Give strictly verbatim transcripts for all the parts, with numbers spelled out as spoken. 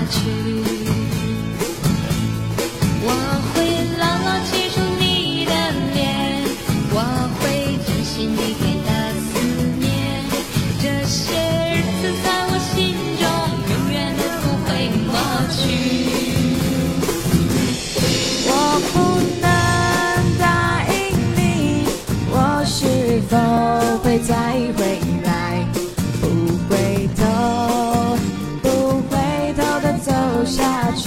去。我会牢牢记住你的脸，我会珍惜你给的思念，这些日子在我心中永远都不会抹去。 我不能答应你，我是否会再回来，不回头，不回头的走下去。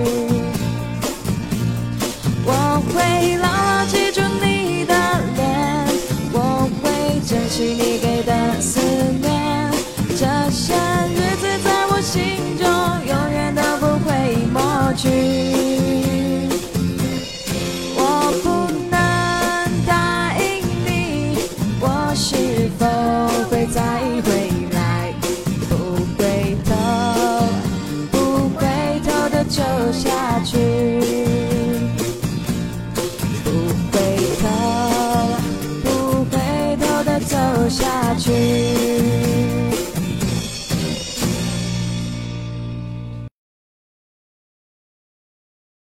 我会牢牢记住你的脸，我会珍惜你给的思念，这些日子在我心